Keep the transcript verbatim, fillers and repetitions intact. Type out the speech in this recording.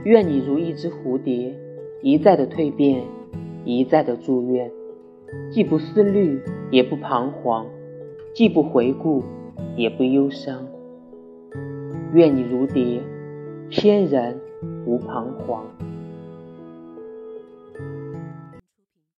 愿你如一只蝴蝶，一再的蜕变，一再的祝愿，既不思虑，也不彷徨，既不回顾，也不忧伤。愿你如蝶，翩然无彷徨。